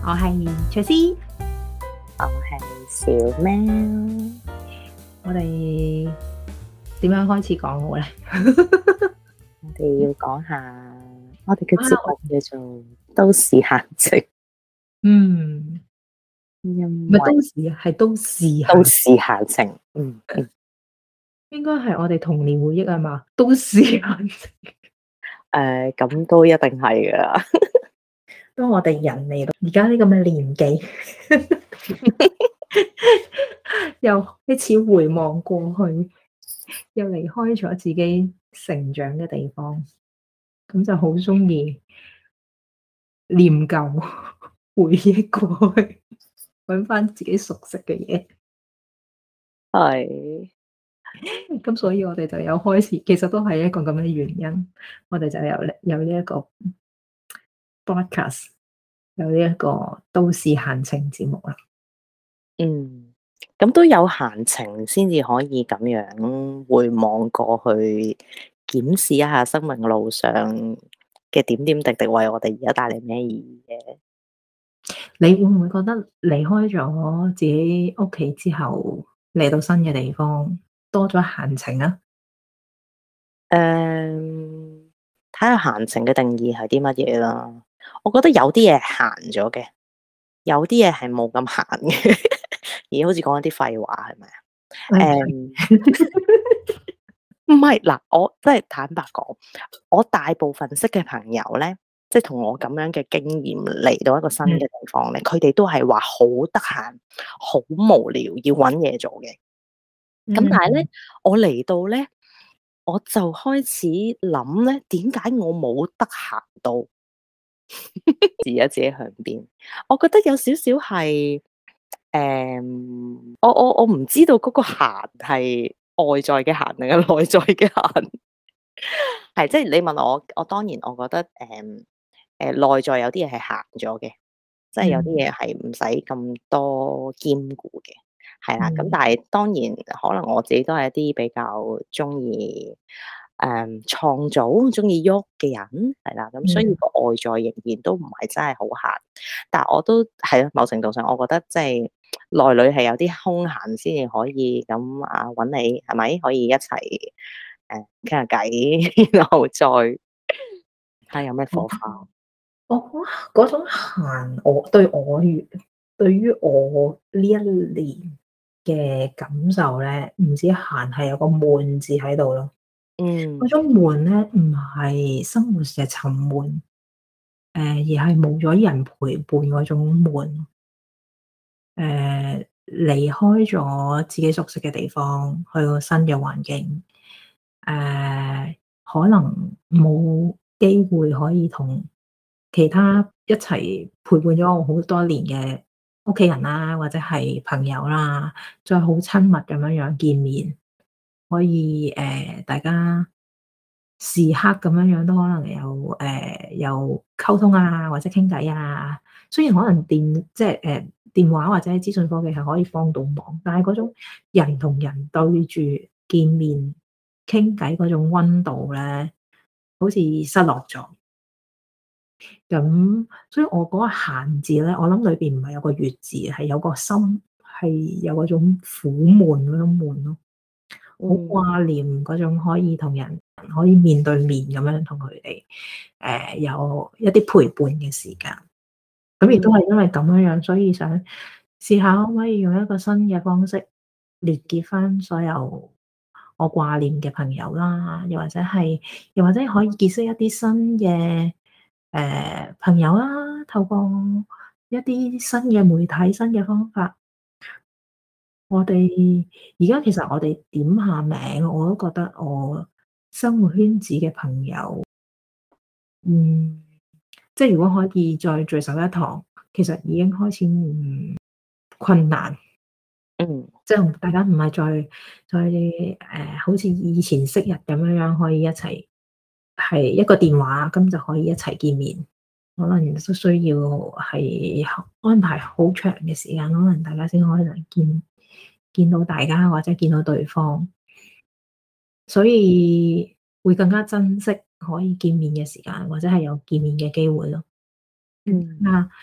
我係翠絲， 我係小喵。 我哋點樣開始講好咧？ 我哋要講下我哋嘅節目叫做都市閒情。 唔係都市啊，係都市閒情。 應該係我哋童年回憶啊嘛，都市閒情。 咁都一定係噶啦。 當我哋人嚟到而家呢咁嘅年紀，又開始回望過去，又離開咗自己成長嘅地方，咁就好中意念舊、回憶過去，揾翻自己熟悉嘅嘢。 係。 咁所以我哋就有開始，其實都係一個咁嘅原因，我哋就有呢一個 broadcast， 有呢一個都市閒情節目啦。 咁都有閒情先至可以咁樣回望過去，檢視一下生命路上嘅點點滴滴，為我哋而家帶嚟咩意義嘅？ 你會唔會覺得離開咗自己屋企之後，嚟到新嘅地方，多咗閒情啊？ 睇下閒情嘅定義係啲乜嘢啦。我覺得有啲嘢閒咗嘅，有啲嘢係冇咁閒嘅。而好似講一啲廢話，係咪啊？唔係嗱，我真係坦白講，我大部分識嘅朋友咧，即係同我咁樣嘅經驗嚟到一個新嘅地方咧，佢哋都係話好得閒，好無聊，要搵嘢做嘅。咁但係咧，我嚟到咧，我就開始諗咧，點解我冇得閒到？自己向邊？我覺得有少少係，我唔知道嗰個閒係外在嘅閒定係內在嘅閒。係即係你問我當然我覺得內在有啲嘢係閒咗嘅，即係有啲嘢係唔使咁多兼顧嘅，係啦。咁但係當然可能我自己都係一啲比較中意創造、中意喐嘅人，係啦。咁所以個外在仍然都唔係真係好閒，但係我都係咯，某程度上我覺得即係內裏係有啲空閒先至可以咁揾你係咪可以一齊傾下偈，然後再睇下有咩火花。 我嗰種閒，對於我呢一年嘅感受咧，唔止閒係有個悶字喺度咯。嗰種悶咧，唔係生活嘅沉悶，而係冇咗人陪伴嗰種悶。離開咗自己熟悉嘅地方，去個新嘅環境，可能冇機會可以同其他一齊陪伴咗我好多年嘅屋企人啦，或者係朋友啦，再好親密咁樣見面，可以大家時刻咁樣都可能有溝通啊，或者傾偈啊。雖然可能電話或者資訊科技係可以幫到忙，但係嗰種人同人對住見面傾偈嗰種溫度咧，好似失落咗。咁所以我嗰個閒字咧，我諗裏邊唔係有個月字，係有個心，係有嗰種苦悶嗰種悶咯，好掛念嗰種可以同人可以面對面咁樣同佢哋有一啲陪伴嘅時間。咁亦都係因為咁樣，所以想試下可唔可以用一個新嘅方式連結翻所有我掛念嘅朋友啦，又或者可以結識一啲新嘅朋友啦，透過一啲新嘅媒體、新嘅方法。我哋而家其實我哋點下名，我都覺得我生活圈子嘅朋友，即係如果可以再聚首一堂，其實已經開始唔困難。即係大家唔係再好似以前昔日咁樣可以一齊係一個電話咁就可以一齊見面。可能都需要係安排好長嘅時間，可能大家先可能見到大家或者見到對方，所以會更加珍惜可以見面嘅時間，或者係有見面嘅機會咯。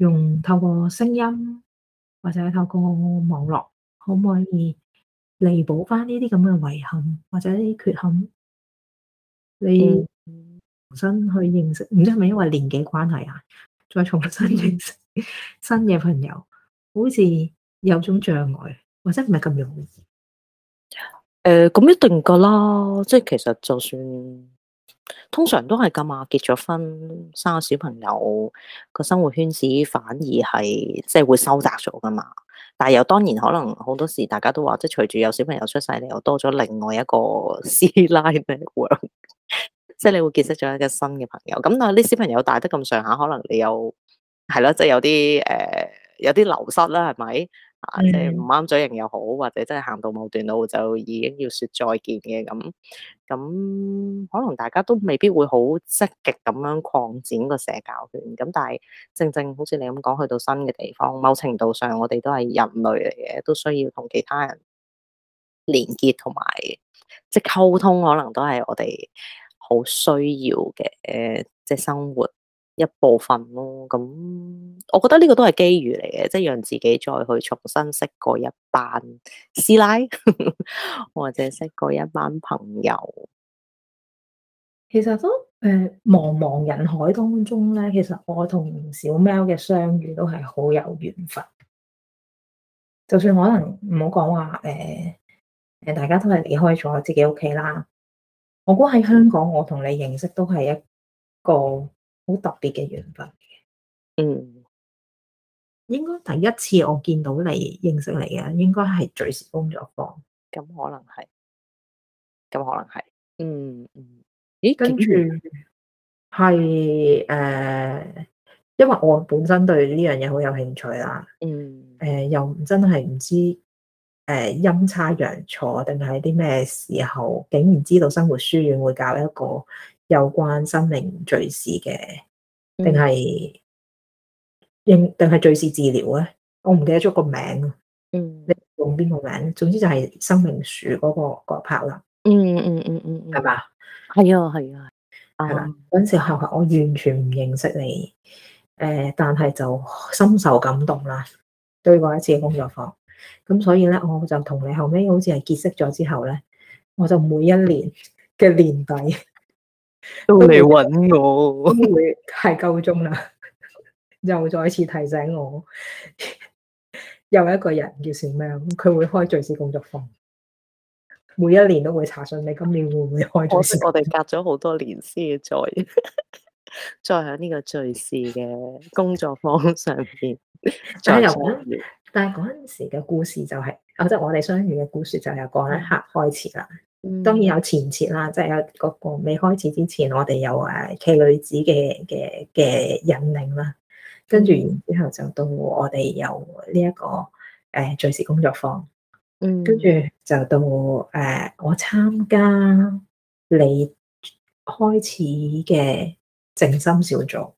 透過聲音或者透過網絡，可唔可以彌補翻呢啲咁嘅遺憾或者呢啲缺陷？你嗯， 重新去認識，唔知係咪因為年紀關係啊？再重新認識新嘅朋友，好似有種障礙，或者唔係咁容易。 咁一定噶啦，即係其實就算通常都係噶嘛，結咗婚生咗小朋友，個生活圈子反而係即係會收窄咗噶嘛。但係又當然可能好多時大家都話，即係隨住有小朋友出世，你又多咗另外一個師奶 network，即係你會結識咗一個新嘅朋友。咁但係啲小朋友大得咁上下，可能你又係咯，即係有啲有啲流失啦，係咪？即係唔啱嘴型又好，或者真係行到某段路就已經要說再見嘅咁，可能大家都未必會好積極咁樣擴展個社交圈。咁但係正正好似你咁講，去到新嘅地方，某程度上我哋都係人類嚟嘅，都需要同其他人連結同埋即係溝通，可能都係我哋好需要嘅即係生活一部分咯。咁我覺得呢個都係機遇嚟嘅，即係讓自己再去重新識過一班師奶，或者識過一班朋友。 其實都茫茫人海當中咧，其實我同小喵嘅相遇都係好有緣分。就算可能唔好講話大家都係離開咗自己屋企啦。我估喺香港，我同你認識都係一個好特別嘅緣分。 嗯， 應該第一次我見到你認識你嘅，應該係聚時工作坊。 咁可能係，咁可能係，咦， 跟住竟然係因為我本身對呢樣嘢好有興趣啦。又真係唔知陰差陽錯定係啲咩時候，竟然知道生活書院會搞一個有關生命敘事嘅，定係敘事治療咧？我唔記得咗個名。你用邊個名？總之就係生命樹嗰 part 啦。係嘛？ 係啊，係啊， 係啦。嗰陣時候我完全唔認識你，但係就深受感動啦。對過一次嘅工作坊，咁所以咧，我就同你後尾好似係結識咗之後咧，我就每一年嘅年底都嚟搵我， 都會係夠鐘啦，又再次提醒我，有一個人叫小喵，佢會開敘事工作坊，每一年都會查詢你今年會唔會開敘事。 我哋隔咗好多年先再再喺呢個敘事嘅工作坊上邊再相遇。 但係嗰陣時嘅故事就係，即係我哋相遇嘅故事就係由嗰一刻開始啦。當然有前設啦，即係有嗰個未開始之前，我哋有奇女子嘅引領啦。跟住然之後就到我哋有呢一個敘事工作坊。跟住就到我參加你開始嘅靜心小組。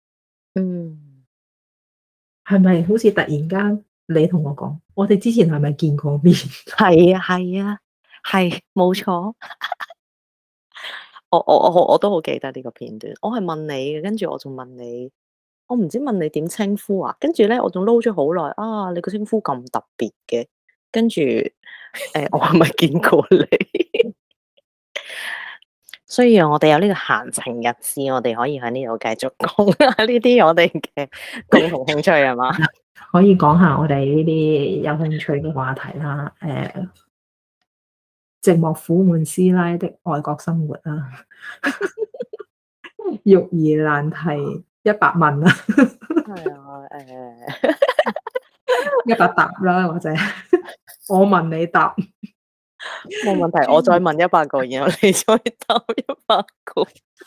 係咪好似突然間你同我講，我哋之前係咪見過面？ 係啊，係啊，係冇錯。我都好記得呢個片段。我係問你嘅，跟住我仲問你，我唔知問你點稱呼啊。跟住咧，我仲撈咗好耐啊！你個稱呼咁特別嘅，跟住我係咪見過你？所以我哋有呢個閒情逸致，我哋可以喺呢度繼續講下呢啲我哋嘅共同興趣係嘛？ 可以講下我哋呢啲有興趣嘅話題啦。寂寞苦悶師奶的外國生活啦，育兒難題100問啦， 係啊， 100答啦，或者我問你答， 冇問題，我再問100個，然後你再答100個，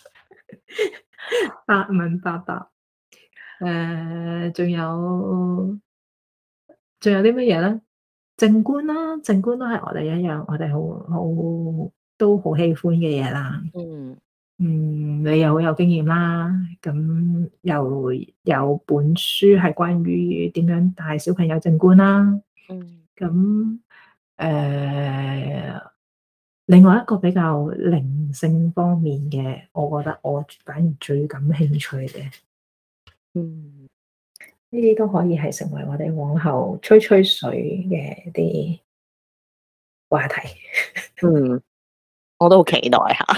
8問8答。仲有啲乜嘢咧？靜觀啦，靜觀都係我哋一樣，我哋都好喜歡嘅嘢啦。你又好有經驗啦，咁又有本書係關於點樣帶小朋友靜觀啦。咁另外一個比較靈性方面嘅，我覺得我反而最感興趣嘅， 呢啲都可以係成為我哋往後吹吹水嘅啲話題。 嗯，我都好期待下。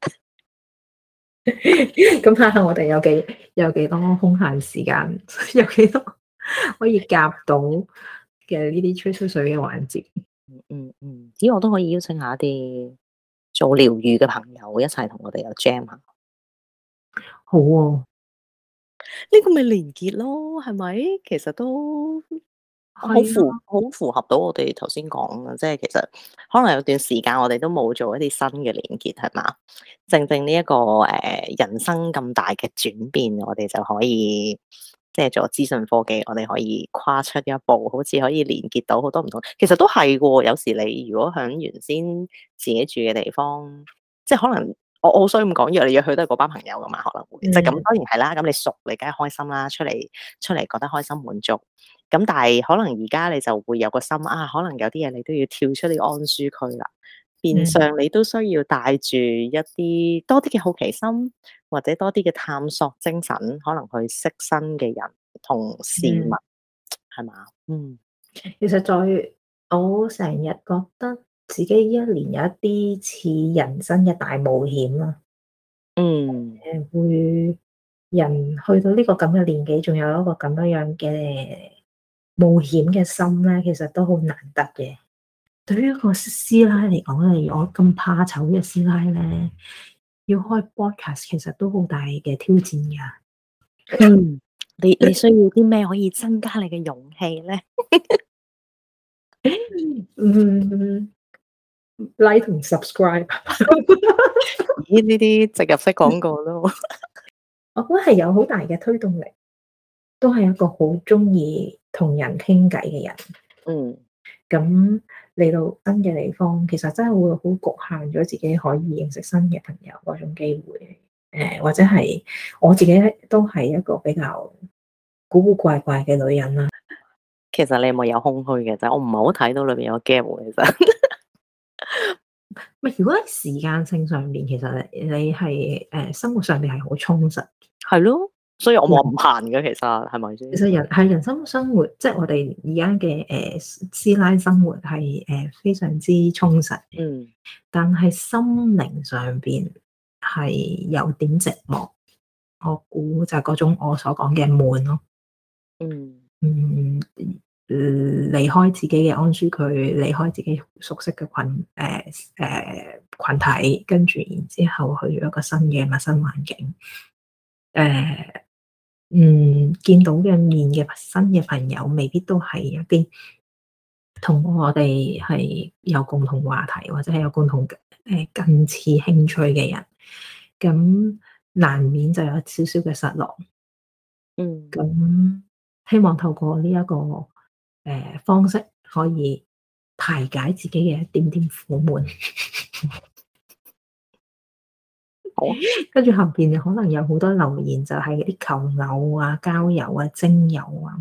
咁睇下我哋有幾多空閒時間，有幾多可以夾到嘅呢啲吹吹水嘅環節。 只要我都可以邀請下一啲做療愈嘅朋友一齊同我哋有 jam 下。 好喎， 呢個咪連結咯，係咪？其實都好係啊， 好符合到我哋頭先講嘅，即係其實可能有段時間我哋都冇做一啲新嘅連結，係嘛？正正呢一個人生咁大嘅轉變，我哋就可以即係做資訊科技，我哋可以跨出一步，好似可以連結到好多唔同。其實都係嘅，有時你如果喺原先自己住嘅地方，即係可能。我好想咁講，約嚟約去都係嗰班朋友噶嘛，可能會即係咁，當然係啦。咁你熟，你梗係開心啦，出嚟覺得開心滿足。咁但係可能而家你就會有個心啊，可能有啲嘢你都要跳出你安舒區啦。變相你都需要帶住一啲多啲嘅好奇心，或者多啲嘅探索精神，可能去識新嘅人同事物，係嘛？ 其實我成日覺得自己一年有一啲似人生嘅大冒險啦。會人去到呢個咁嘅年紀，仲有一個咁樣嘅冒險嘅心咧，其實都好難得嘅。對於一個師奶嚟講咧，我咁怕醜嘅師奶咧，要開 podcast 其實都好大嘅挑戰噶。 你需要啲咩可以增加你嘅勇氣咧 ？Like 同 subscribe。 咦？呢啲植入式廣告咯。 我覺得係有好大嘅推動力，都係一個好中意同人傾偈嘅人。咁嚟到新嘅地方，其實真係會好局限咗自己可以認識新嘅朋友嗰種機會。或者係我自己都係一個比較古古怪怪嘅女人啦。 其實你有冇有空虛嘅啫？我唔係好睇到裏邊有 gap 喎。其實， 如果喺時間性上面，其實你係生活上面係好充實。 係咯，所以我冇唔閒嘅，其實係咪先？ 其實人生活，即係我哋而家嘅師奶生活係非常之充實。但係心靈上邊係有點寂寞。我估就係嗰種我所講嘅悶咯。離開自己嘅安舒區，離開自己熟悉嘅群體，跟住然之後去咗一個新嘅陌生環境。見到嘅面嘅新嘅朋友，未必都係一啲同我哋係有共同話題，或者係有共同近似興趣嘅人，咁難免就有少少嘅失落。咁希望透過呢一個方式，可以排解自己嘅一點點苦悶。 好， 跟住後邊可能有好多留言，就係啲求偶啊、交友啊、徵友啊。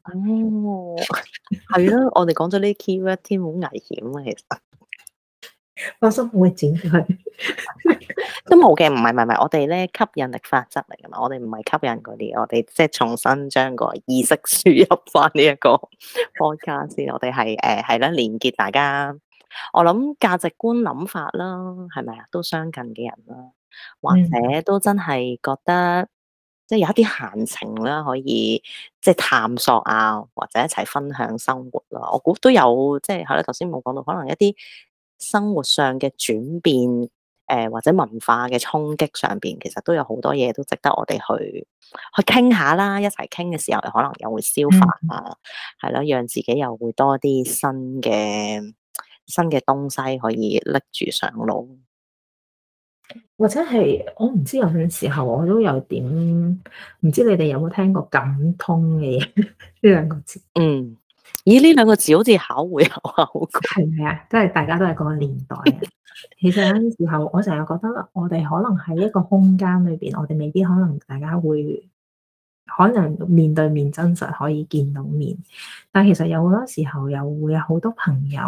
係咯，我哋講咗呢 keyword 添，好危險啊！其實放心，我會剪佢。 都冇嘅，唔係，我哋咧吸引力法則嚟噶嘛，我哋唔係吸引嗰啲，我哋即係重新將個意識輸入翻呢一個 podcast 先，我哋係啦，連結大家，我諗價值觀諗法啦，係咪啊，都相近嘅人啦，或者都真係覺得即係有一啲閒情啦，可以即係探索啊，或者一齊分享生活啦，我估都有，即係啦，頭先冇講到，可能一啲生活上嘅轉變。或者文化嘅衝擊上邊，其實都有好多嘢都值得我哋去傾下啦。一齊傾嘅時候，可能又會消化啊，係咯，讓自己又會多啲新嘅東西可以拎住上路。 或者係我唔知，有陣時候我都有點唔知你哋有冇聽過感通嘅嘢呢兩個字？ 咦，呢兩個字好似考會考過， 係咪啊？即係大家都係嗰個年代啊。其實有陣時候，我成日覺得我哋可能喺一個空間裏邊，我哋未必可能大家會可能面對面真實可以見到面，但其實有好多時候又會有好多朋友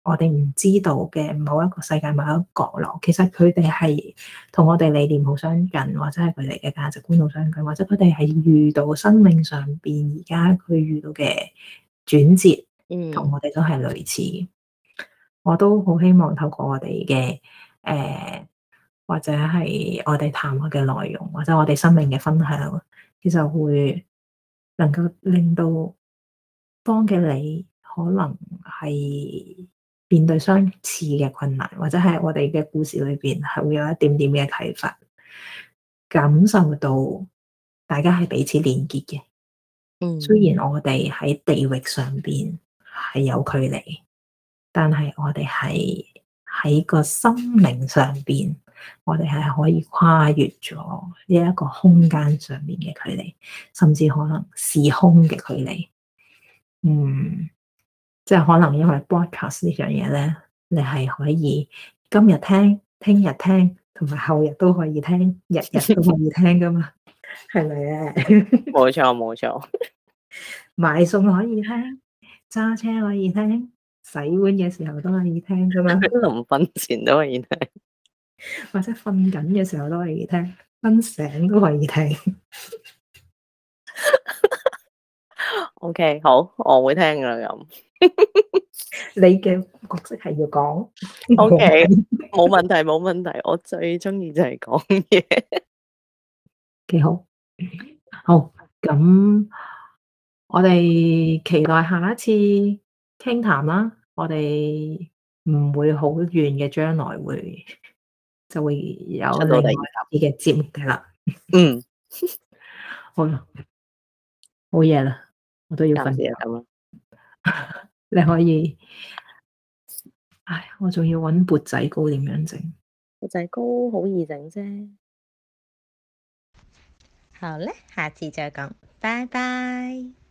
我哋唔知道嘅某一個世界某一個角落，其實佢哋係同我哋理念好相近，或者係佢哋嘅價值觀好相近，或者佢哋係遇到生命上邊而家佢遇到嘅轉折，同我哋都係類似。我都好希望透過我哋嘅或者係我哋談話嘅內容，或者我哋生命嘅分享，其實會能夠令到當嘅你可能係面對相似嘅困難，或者係我哋嘅故事裏邊係會有一點點嘅啟發，感受到大家係彼此連結嘅。雖然我哋喺地域上邊係有距離，但係我哋係喺個心靈上邊，我哋係可以跨越咗呢一個空間上面嘅距離，甚至可能時空嘅距離。即係可能因為 broadcast 呢樣嘢咧，你係可以今日聽、聽日聽，同埋後日都可以聽，日日都可以聽噶嘛，係咪咧？ 冇錯冇錯， 買餸可以聽，揸車可以聽，洗碗嘅時候都可以聽噶嘛， 臨瞓前都可以聽， 或者瞓緊嘅時候都可以聽，瞓醒都可以聽。 OK，好，我會聽噶咁。 你嘅角色係要講 OK，冇問題冇問題，我最中意就係講嘢。 幾好，好，咁我哋期待下一次傾談啦。我哋唔會好遠嘅將來就會有另外一啲嘅節目嘅啦。好啦，好夜啦，我都要瞓覺。你可以，我仲要搵缽仔糕點樣整？ 缽仔糕好易整啫。 好咧，下次再講，拜拜。